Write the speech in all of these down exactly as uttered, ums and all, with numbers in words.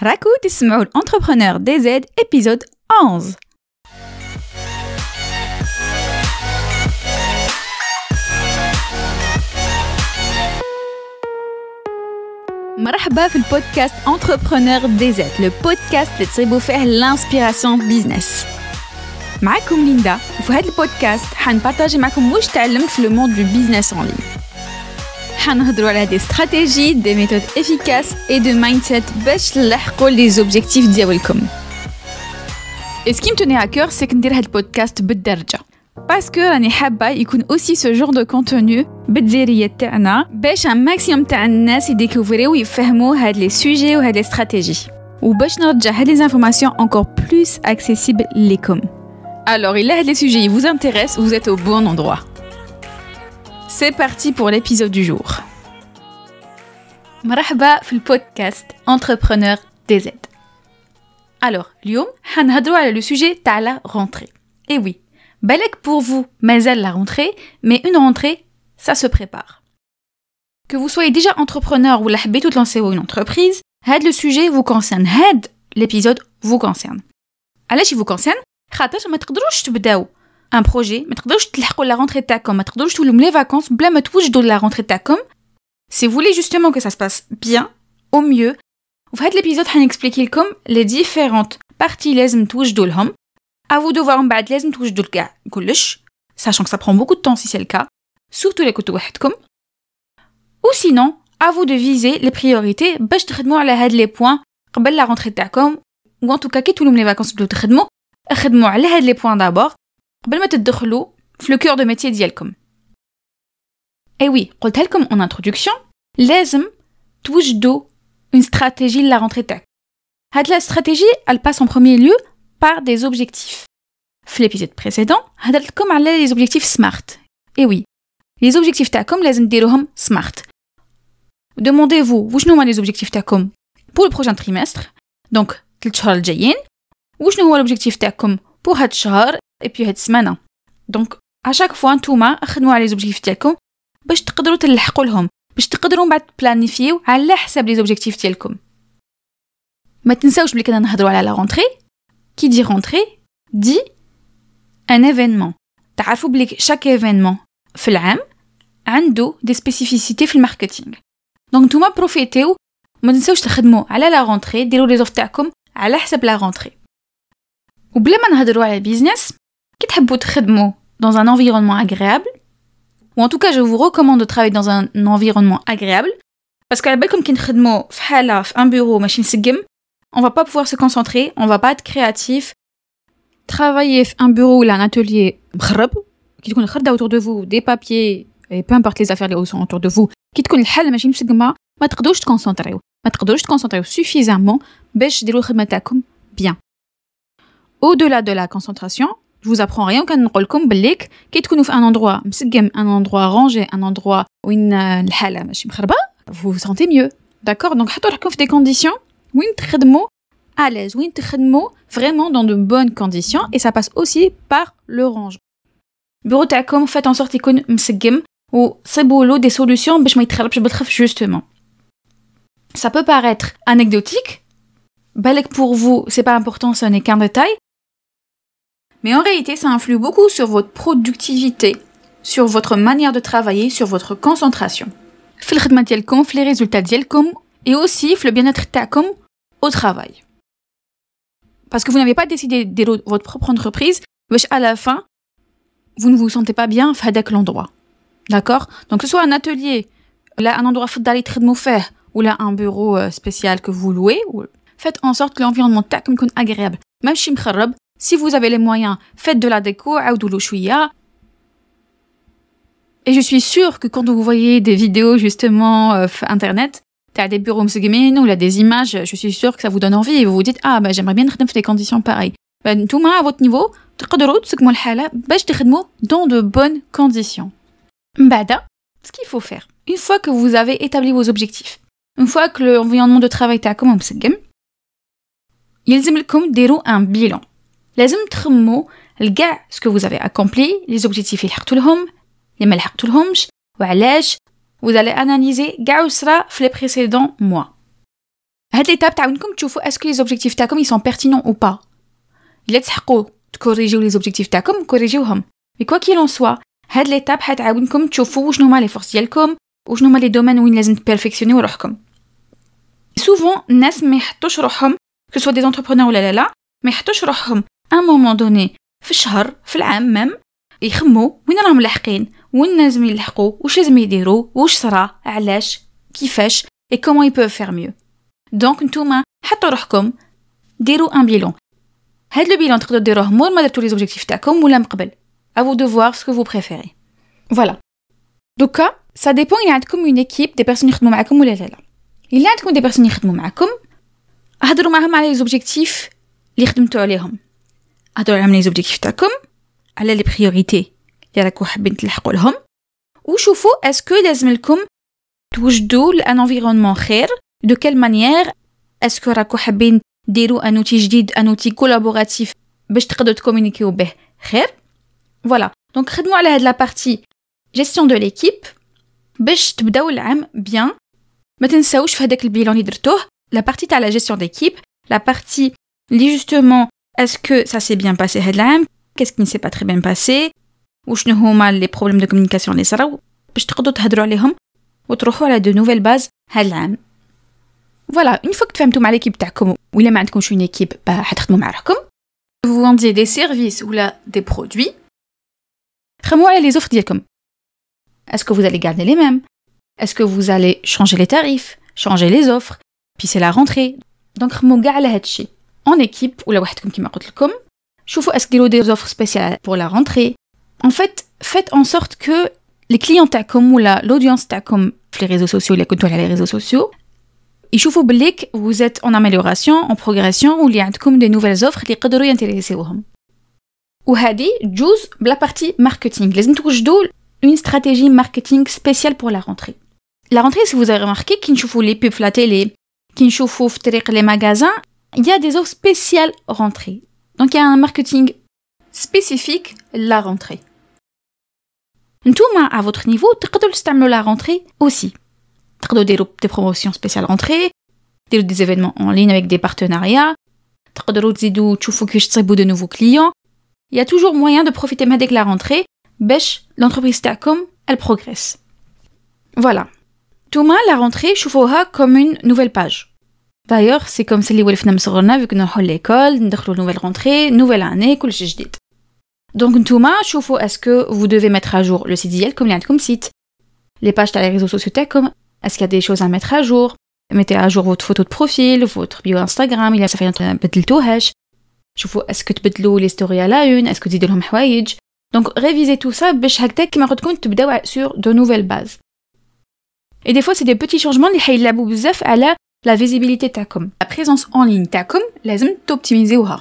راكو تسمعوا الانتربرونور دي زد épisode onze. مرحبا في البودكاست Entrepreneur دي زد, le podcast اللي تصيبوا فيه الانسبيراسيون بيزنس. معكم ليندا, وفي هذا البودكاست حنبارطاجي معكم واش تعلمت في لو موند دو بيزنس اون لين. حنهضروا على دي استراتيجي, دي ميثود افيكاس اي دو مايندسيت باش تلحقوا لي زوبجيكتيف ديالكم. Et ce qui me tenait à cœur, c'est que ندير هذا البودكاست بالدرجه. Parce que راني حابه يكون aussi ce genre de contenu بالدزيريه تاعنا باش un maximum تاع الناس يديكوفريو ويفهموا هاد لي سوجي وهاد لي استراتيجي, وباش نرجع هاد لي انفورماسيون encore plus accessible ليكم. Alors, il y a des sujets qui vous intéressent, vous êtes au bon endroit. C'est parti pour l'épisode du jour. مرحبا في البودكاست Entrepreneur دي زد. Alors, اليوم حنهضروا على le sujet تاع la rentrée. Et oui, بالك pour vous, مازال la rentrée, mais une rentrée, ça se prépare. Que vous soyez déjà entrepreneur ou حبيتوا تلانسيو une entreprise, هاد le sujet vous concerne. هاد l'épisode vous concerne. علاش il vous concerne؟ خاطر ما تقدروش تبداو ان بروجي, ما تقدروش تلحقوا لا رونتري تاعكم, ما تقدروش تولوا لي فاكونس بلا ما توجدوا لا رونتري تاعكم. Si vous voulez justement que ça se passe bien, au mieux, وفي هذا الابيزود حنexpliquer لكم les différentes parties لازم توجدوا لهم. À vous de voir من بعد لازم توجدوا لكاع كلش, sachant que ça prend beaucoup de temps si c'est le cas, surtout les كنتوا وحدكم. Ou sinon, à vous de viser les priorités باش تخدموا على هاد les points قبل la rentrée تاعكم, ou en tout cas كي تولوا لي فاكونس تبداو تخدموا اخدموا على هاد لي بوين دابور قبل ما تدخلوا في لو كور دو ميتي ديالكم. اي وي, قلتها لكم اون انتروداكسيون, لازم توجدوا اون استراتيجي لا رونتري تاعك. هاد لا استراتيجي elle passe en premier lieu par des objectifs. في ليبيزود بريسيدون هضرت لكم على لي زوبجيكتيف سمارت. اي وي, لي زوبجيكتيف تاعكم لازم ديروهم سمارت. demandez-vous وشنو هما لي زوبجيكتيف تاعكم pour le prochain trimestre, دونك ثلاث شهور الجايين, وشنو هو لوبجيكتيف تاعكم بور هاد الشهر اي بي هاد السمانه. دونك اشاك فوا نتوما خدموا على لي زوبجيكتيف تاعكم باش تقدروا تلحقوا لهم, باش تقدروا بعد بلانيفيو على حساب لي زوبجيكتيف ديالكم. ما تنساوش بلي كنا نهضروا على لا رونتري. كي دي رونتري دي ان ايفينمون. تعرفوا بلي شاك ايفينمون في العام عنده دي سبيسيفيسيتي في الماركتينغ. دونك نتوما بروفيتيو, ما تنساوش تخدموا على لا رونتري, ديروا لي زوف تاعكم على حساب لا رونتري. وبلا ما نهضروا على البيزنس, كي تحبوا تخدموا dans un environnement agréable, ou en tout cas je vous recommande de travailler dans un environnement agréable, parce que على بالكم كي نخدموا في حاله في un bureau ماشي مسقم, on va pas pouvoir se concentrer, on va pas être créatif. Travailler في un bureau ou un atelier مخرب, كي تكون الخرده autour de vous, des papiers et peu importe les affaires qui sont autour de vous, كي تكون الحاله ماشي مسقمه, ما تقدروش تكونسونطريو, ما تقدروش تكونسونطريو suffisamment باش ديروا الخدمه تاعكم bien. Au-delà de la concentration, je vous apprends rien qu'à نقول لكم بليك كي تكونوا في un endroit مسقم, un endroit rangé, un endroit وين الحاله ماشي مخربه, vous vous sentez mieux. D'accord, donc حطوا روحكم في des conditions وين تخدموا à l'aise, وين تخدموا vraiment dans de bonnes conditions, et ça passe aussi par le rangement. bureau تاعكم faites en sorte يكون مسقم وصيبوا له des solutions باش ما يتخربش بالخف justement. Ça peut paraître anecdotique, بالك pour vous c'est pas important, ce n'est qu'un détail. Mais en réalité, ça influe beaucoup sur votre productivité, sur votre manière de travailler, sur votre concentration. في الخدمة ديالكم, في les résultats ديالكم, et aussi في le bien-être تاعكم au travail. Parce que vous n'avez pas décidé de votre propre entreprise, باش à la fin, vous ne vous sentez pas bien في هذاك l'endroit. D'accord? Donc que ce soit un atelier, là un endroit فضالي تخدموا فيه, ou là un bureau spécial que vous louez, ou... faites en sorte que l'environnement تاعكم يكون agréable. ماشي مخرب. Si vous avez les moyens, faites de la déco, عاودوا شويه. Et je suis sûre que quand vous voyez des vidéos justement euh, sur internet, t'as des bureaux مسقمين ou là des images, je suis sûre que ça vous donne envie et vous vous dites ah bah j'aimerais bien نخدم في des conditions pareilles. Bah نتوما à votre niveau تقدروا تسقموا الحاله باش تخدموا dans de bonnes conditions. بعدا, ce qu'il faut faire, une fois que vous avez établi vos objectifs, une fois que l'environnement de travail تاعكم مسقم, يلزم لكم ديروا un bilan. لازم تخموا لكاع ce que vous avez accompli, les objectifs اللي حققتوا لهم, اللي ما لحقتوا لهمش, وعلاش. Vous allez analyser كاع وصرا في les précédents mois. هاد l'étape تعاونكم تشوفوا est-ce que les objectifs تاعكم ils sont pertinents ou pas. إلا تحقوا تكوريجيو les objectifs تاعكم كوريجيوهم. Mais quoi qu'il en soit, هاد l'étape حتعاونكم تشوفوا شنو هما les forces ديالكم وشنو هما les domaines وين لازم تبيرفكسيونيو روحكم. Souvent الناس ما يحطوش روحهم que ce soit des entrepreneurs ولا لا لا ما يحطوش روحهم à un moment donné في الشهر في العام ميم يخموا وين راهم لاحقين وين لازم يلحقوا واش لازم يديروا واش صرا علاش كيفاش et comment ils peuvent faire mieux. Donc نتوما حطوا روحكم ديروا ان بيلون. هاد لو بيلون تقدروا ديروه مور ما درتوا لي زوبجيكتيف تاعكم ولا من قبل. À vous de voir ce que vous préférez. Voilà. دوكا ça dépend il y a عندكم une équipe des personnes يخدموا معكم ولا لا لا. إلا عندكم des personnes يخدموا معكم هضروا معهم على لي زوبجيكتيف اللي خدمتوا عليهم. هضروا على لي زوبجيكتيف تاعكم على لي بريوريتي اللي راكم حابين تلحقوا لهم وشوفوا اسكو لازم لكم توجدوا لان انفيرونمون خير دو كيل مانيير اسكو راكم حابين ديروا ان اوتي جديد ان اوتي كولابوراتيف باش تقدروا تكومونيكيو به خير. فوالا دونك خدموا على هاد لا بارتي جيستيون دو ليكيب باش تبداو العام بيان. ما تنساوش في هذاك البيلون اللي درتوه لا بارتي تاع لا جيستيون ديكيب لا بارتي اللي جوستومون اسكو سا سي بيان باسي هاد العام qu'est-ce qui ne s'est pas très bien passé وشنو هما لي بروبليم دو كومونيكاسيون اللي صراو باش تقدروا تهضروا عليهم وتروحوا على دو نوفيل باز هاد العام. فوالا اون فوا تفهمتوا مع ليكيب تاعكم ولا ما عندكمش اون ايكيب حتخدموا مع روحكم vous vendiez des services ولا des produits خموا على لي زوفر ديالكم. est-ce que vous allez garder les mêmes est-ce que vous allez changer les tarifs changer les offres puis c'est la rentrée donc خموا كاع على هادشي en équipe ولا وحدكم كيما قلت لكم. شوفوا est-ce qu'il y a des offres spéciales pour la rentrée. En fait, faites en sorte que les clients تاعكم ولا l'audience تاعكم في les réseaux sociaux اللي كنتوا على les réseaux sociaux يشوفوا بليك vous êtes en amélioration en progression واللي عندكم des nouvelles offres اللي يقدروا ينتريسيوهم. وهذه جوز بلا بارتي ماركتينغ لازم توجدوا une stratégie marketing spéciale pour la rentrée. La rentrée, si vous avez remarqué كي نشوفوا les pubs في la télé كي نشوفوا في طريق les magasins il y a des offres spéciales rentrée. Donc il y a un marketing spécifique la rentrée. نتوما à votre niveau تقدروا تستعملوا la rentrée aussi. تقدروا ديروا des promotions spéciales rentrée, ديروا des événements en ligne avec des partenariats, تقدروا تزيدوا تشوفوا كيفاش تصيبوا de nouveaux clients. Il y a toujours moyen de profiter de la rentrée باش l'entreprise تاعكم elle progresse. Voilà. نتوما la rentrée شوفوها comme une nouvelle page. D'ailleurs, c'est comme celle اللي ولفنا من صغرنا vu que نروحوا l'école, ندخلوا nouvelle rentrée, nouvelle année, كلشي جديد. Donc نتوما شوفوا est-ce que vous devez mettre à jour le site ديالكم اللي عندكم site, les pages تاع les réseaux sociaux تاعكم, est-ce qu'il y a des choses à mettre à jour, mettez à jour votre photo de profil, votre bio Instagram, il y a ça fait ما بدلتوهاش. شوفوا est-ce que تبدلوا les stories à la une, est-ce que تزيدوا لهم حوايج. Donc révisez tout ça باش هكذا كيما قلت لكم تبداو sur de nouvelles bases. Et des fois c'est des petits changements اللي حيلعبوا بزاف على la visibilité تاعكم. La présence en ligne تاعكم لازم توبتيميزيوها.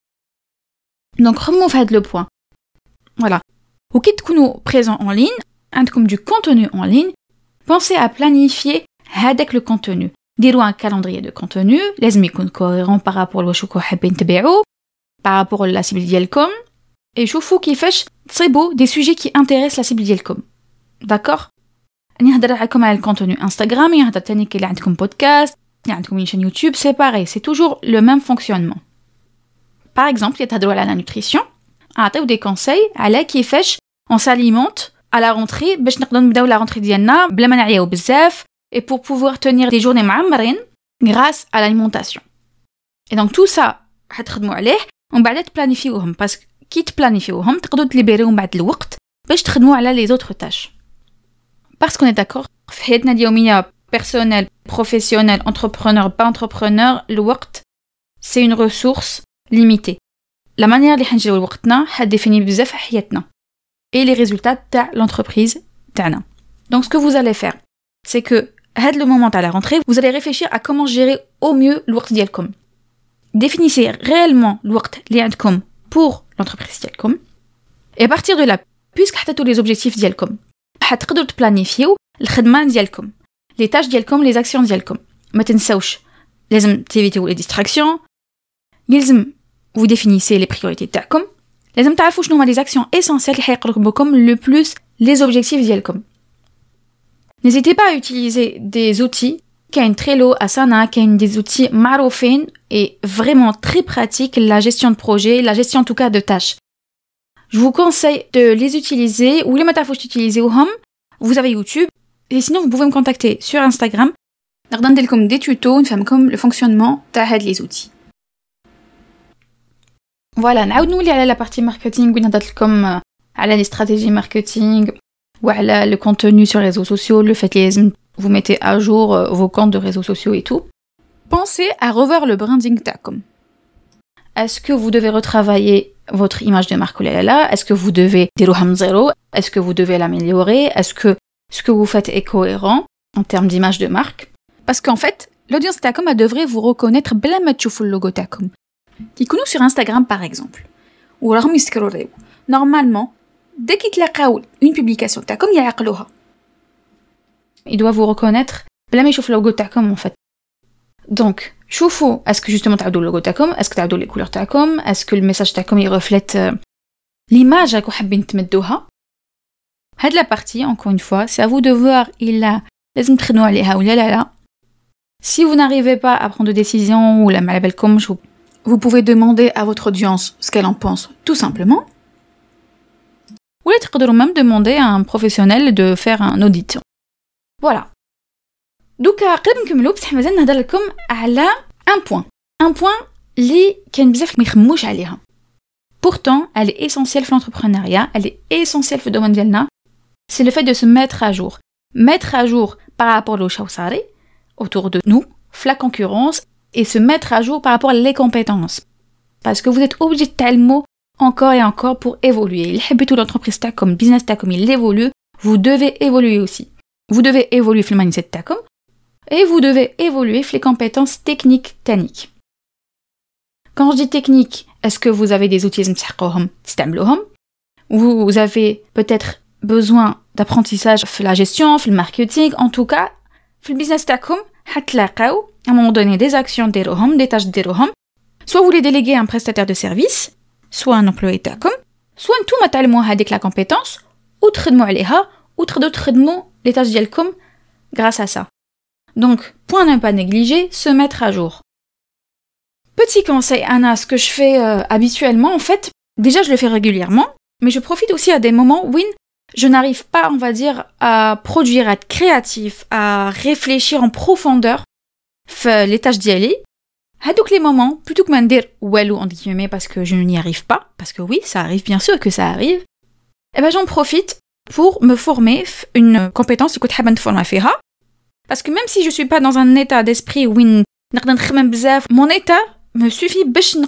Donc خمموا في هذا le point. Voilà. وكي تكونوا présent en ligne, عندكم du contenu en ligne, pensez à planifier هذاك le contenu. ديروا un calendrier de contenu, لازم يكون cohérent par rapport لواش راكم حابين تبيعوا, par rapport à la cible ديالكم. Et شوفوا كيفاش تصيبوا des sujets qui intéressent la cible ديالكم. D'accord؟ نهضر عليكم على الكونتوني انستغرام, يهضر تاني كي عندكم بودكاست, عندكم une chaîne YouTube, c'est pareil, c'est toujours le même fonctionnement. Par exemple, يتهضروا على la nutrition, نعطيو des conseils على كيفاش on s'alimente à la rentrée باش نقدروا نبداو la rentrée ديالنا بلا ما نعياو بزاف et pour pouvoir tenir des journées معمرين grâce à l'alimentation. Et donc tout ça حتخدموا عليه ومن بعد تبلانيفيوهم باسكو كي تبلانيفيوهم تقدروا تليبريو من بعد الوقت باش تخدموا على les autres tâches. Parce qu'on est d'accord, في حياتنا اليومية personnel, professionnel, entrepreneur, pas entrepreneur, الوقت c'est une ressource limitée. La manière اللي حنجيو لوقتنا حديفيني بزاف حياتنا et les résultats تاع l'entreprise تاعنا. Donc ce que vous allez faire, c'est que هاد le moment à la rentrée, vous allez réfléchir à comment gérer au mieux الوقت ديالكم. Définissez réellement الوقت اللي عندكم pour l'entreprise ديالكم. Et à partir de là, puisque حطيتوا les objectifs ديالكم, حتقدروا تبلانيفيو الخدمة ديالكم, les tâches ديالكم, les actions ديالكم. ما تنساوش لازم تيفيتيو les distractions, لازم vous définissez les priorités تاعكم, لازم تعرفوا شنو هما les actions essentielles اللي حيقربوكم le plus les objectifs ديالكم. N'hésitez pas à utiliser des outils كاين Trello, Asana, كاين des outils معروفين et vraiment très pratiques la gestion de projet, la gestion en tout cas de tâches. Je vous conseille de les utiliser ou les matafouches utiliser-هم. Vous avez YouTube et sinon vous pouvez me contacter sur Instagram. نقدر ندير لكم des tutos نفهمكم le fonctionnement تاع هاد les outils. Voilà, نعاود نولي على la partie marketing وين هضرت لكم على les stratégies marketing وعلى le contenu sur les réseaux sociaux, le fait que vous mettez à jour vos comptes de réseaux sociaux et tout. Pensez à revoir le branding تاعكم. Est-ce que vous devez retravailler votre image de marque là? Est-ce que vous devez ديروها من zéro? Est-ce que vous devez l'améliorer? Est-ce que ce que vous faites est cohérent en termes d'image de marque? Parce qu'en fait, l'audience تاعكم elle devrait vous reconnaître بلا ما تشوفوا اللوغو تاعكم. كيكونوا sur Instagram par exemple. ou راهم يسكروليو. Normalement, dès qu'ils تلاقاو une publication تاعكم يعقلوها. Il doit vous reconnaître بلا ما يشوف اللوغو تاعكم en fait. Donc, شوفوا est-ce que justement تعدوا اللوغو تاعكم, est-ce que تعدوا les couleurs تاعكم, est-ce que le message تاعكم il reflète l'image راكم حابين تمدوها. هاد la partie encore une fois, c'est à vous de voir il a لازم تخدموا عليها ولا لا لا. Si vous n'arrivez pas à prendre de décision ou la ما على بالكمش, vous pouvez demander à votre audience ce qu'elle en pense tout simplement. Ou تقدروا même demander à un professionnel de faire un audit. Voilà. دوكا قبل نكملوا بصح مازال نهضر لكم على un point. Un point اللي كان بزاف ما يخموش عليها. Pourtant, elle est essentielle في l'entrepreneuriat, elle est essentielle في الدومين ديالنا. C'est le fait de se mettre à jour. Mettre à jour par rapport au شاوصاري autour de nous, la concurrence, et se mettre à jour par rapport aux compétences. Parce que vous êtes obligé de تعلموا encore et encore pour évoluer. Il حبيتوا l'entreprise تاعكم, business تاعكم, il évolue, vous devez évoluer aussi. Vous devez évoluer في المايندسيت تاعكم et vous devez évoluer في les compétences techniques تانيك. Quand je dis technique, est-ce que vous avez des outils تستحقوهم تستعملوهم? Vous avez peut-être besoin d'apprentissage في la gestion, في le marketing, en tout cas في le business تاعكم حتلاقاو à un moment donné des actions ديروهم, des tâches ديروهم. Soit vous les déléguez à un prestataire de service, soit un employé تاعكم, soit نتوما تعلموا هذيك la compétence ou تخدموا عليها ou تقدروا تخدموا les tâches ديالكم grâce à ça. Donc, point à ne pas négliger, se mettre à jour. Petit conseil, Anna, ce que je fais euh, habituellement, en fait, déjà je le fais régulièrement, mais je profite aussi à des moments où je n'arrive pas, on va dire, à produire, à être créatif, à réfléchir en profondeur les tâches d'y donc les moments, plutôt que de dire « walou » entre guillemets parce que je n'y arrive pas, parce que oui, ça arrive, bien sûr que ça arrive, eh ben j'en profite pour me former une compétence que je veux former fiha. Parce que même si je suis pas dans un état d'esprit où mon état me suffit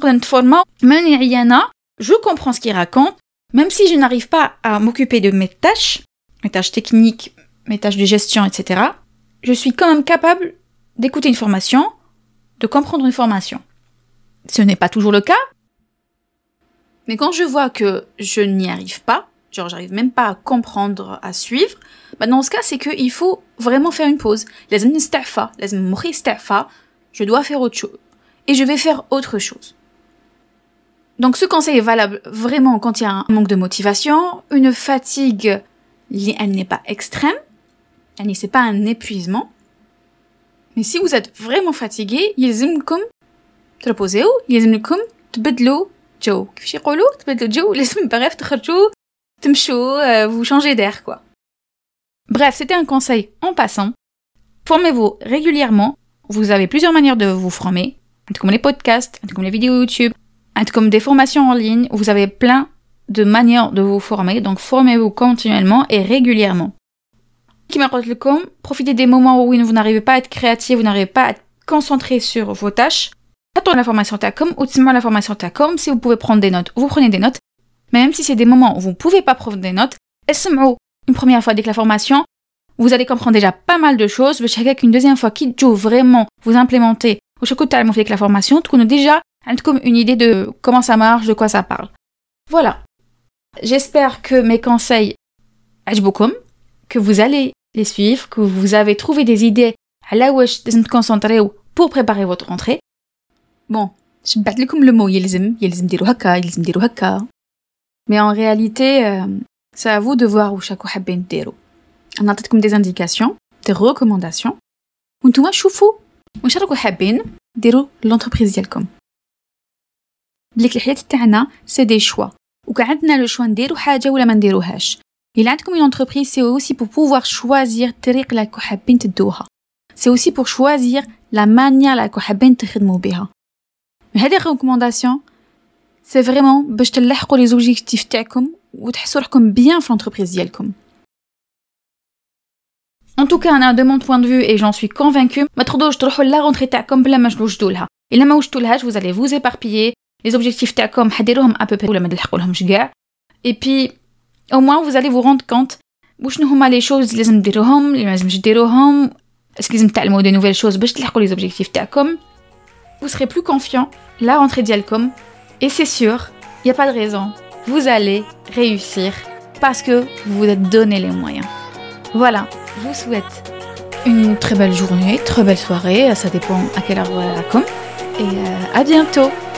je comprends ce qu'il raconte, même si je n'arrive pas à m'occuper de mes tâches, mes tâches techniques, mes tâches de gestion, et cetera, je suis quand même capable d'écouter une formation, de comprendre une formation. Ce n'est pas toujours le cas, mais quand je vois que je n'y arrive pas, genre j'arrive même pas à comprendre, à suivre, bah dans ce cas c'est qu'il faut vraiment faire une pause. لازم نستعفى, لازم مخي يستعفى, je dois faire autre chose. Et je vais faire autre chose. Donc ce conseil est valable vraiment quand il y a un manque de motivation, une fatigue, elle n'est pas extrême, elle n'est pas un épuisement. Mais si vous êtes vraiment fatigué, يلزمكم تريبوزيو, يلزمكم تبدلوا جو. كيفاش يقولوا تبدلوا جو, لازم bref تخرجوا تمشوا, vous changez d'air quoi. Bref, c'était un conseil en passant. Formez-vous régulièrement. Vous avez plusieurs manières de vous former. Comme les podcasts, comme les vidéos YouTube, comme des formations en ligne. Vous avez plein de manières de vous former. Donc, formez-vous continuellement et régulièrement. Profitez des moments où vous n'arrivez pas à être créatif, vous n'arrivez pas à être concentré sur vos tâches. Attendez la formation TACOM ou la formation TACOM. Si vous pouvez prendre des notes, vous prenez des notes. Mais même si c'est des moments où vous ne pouvez pas prendre des notes, une première fois dès que la formation, vous allez comprendre déjà pas mal de choses. Une deuxième fois, qui vraiment vous implémentez ou avec la formation, vous avez déjà une idée de comment ça marche, de quoi ça parle. Voilà. J'espère que mes conseils عجبوكم, que vous allez les suivre, que vous avez trouvé des idées à la واش لازم تكونسونطريو pour préparer votre rentrée. Bon, je vais لكم le mot يلزم, يلزم ديروا هكا, يلزم ديروا هكا. Mais en réalité, euh, c'est à vous de voir où chaque حابين ديروا. On a peut-être comme des indications, des recommandations. وانتوما شوفوا واش راكم حابين ديروا لونتربريز ديالكم. بليك الحياة تاعنا سي دي شوا، وكان عندنا لو شوا نديرو حاجه ولا ما نديروهاش. الا عندكم اون انتربريز سي اوسي بور بوفوار شوازير الطريق اللي راكم حابين تدوها، سي اوسي بور شوازير لا مانيير اللي راكم حابين تخدموا بها. هذه ريكومونداسيون سي فريمون باش تلحقوا لي زوبجيكتيف تاعكم وتحسوا روحكم بيان في لونتربريز ديالكم. En tout cas, de mon point de vue, et j'en suis convaincue, ما تقدروش تروحوا لا رونتري تاعكم بلا ما توجدوا لها. الا ما وجدتولهاش vous allez vous éparpiller. Les objectifs تاعكم حديروهم à peu près ولا ما تلحقولهمش كاع. Et puis au moins vous allez vous rendre compte وشنو هما لي choses اللي لازم ديروهم اللي ما لازمش ديروهم. اسكو لازم تعلموا دي نوفيل choses باش تلحقوا les objectifs تاعكم. Vous serez plus confiant la rentrée ديالكم. Et c'est sûr, il y a pas de raison. Vous allez réussir parce que vous vous êtes donné les moyens. Voilà, je vous souhaite une très belle journée, très belle soirée, ça dépend à quelle heure vous allez. Et euh, à bientôt.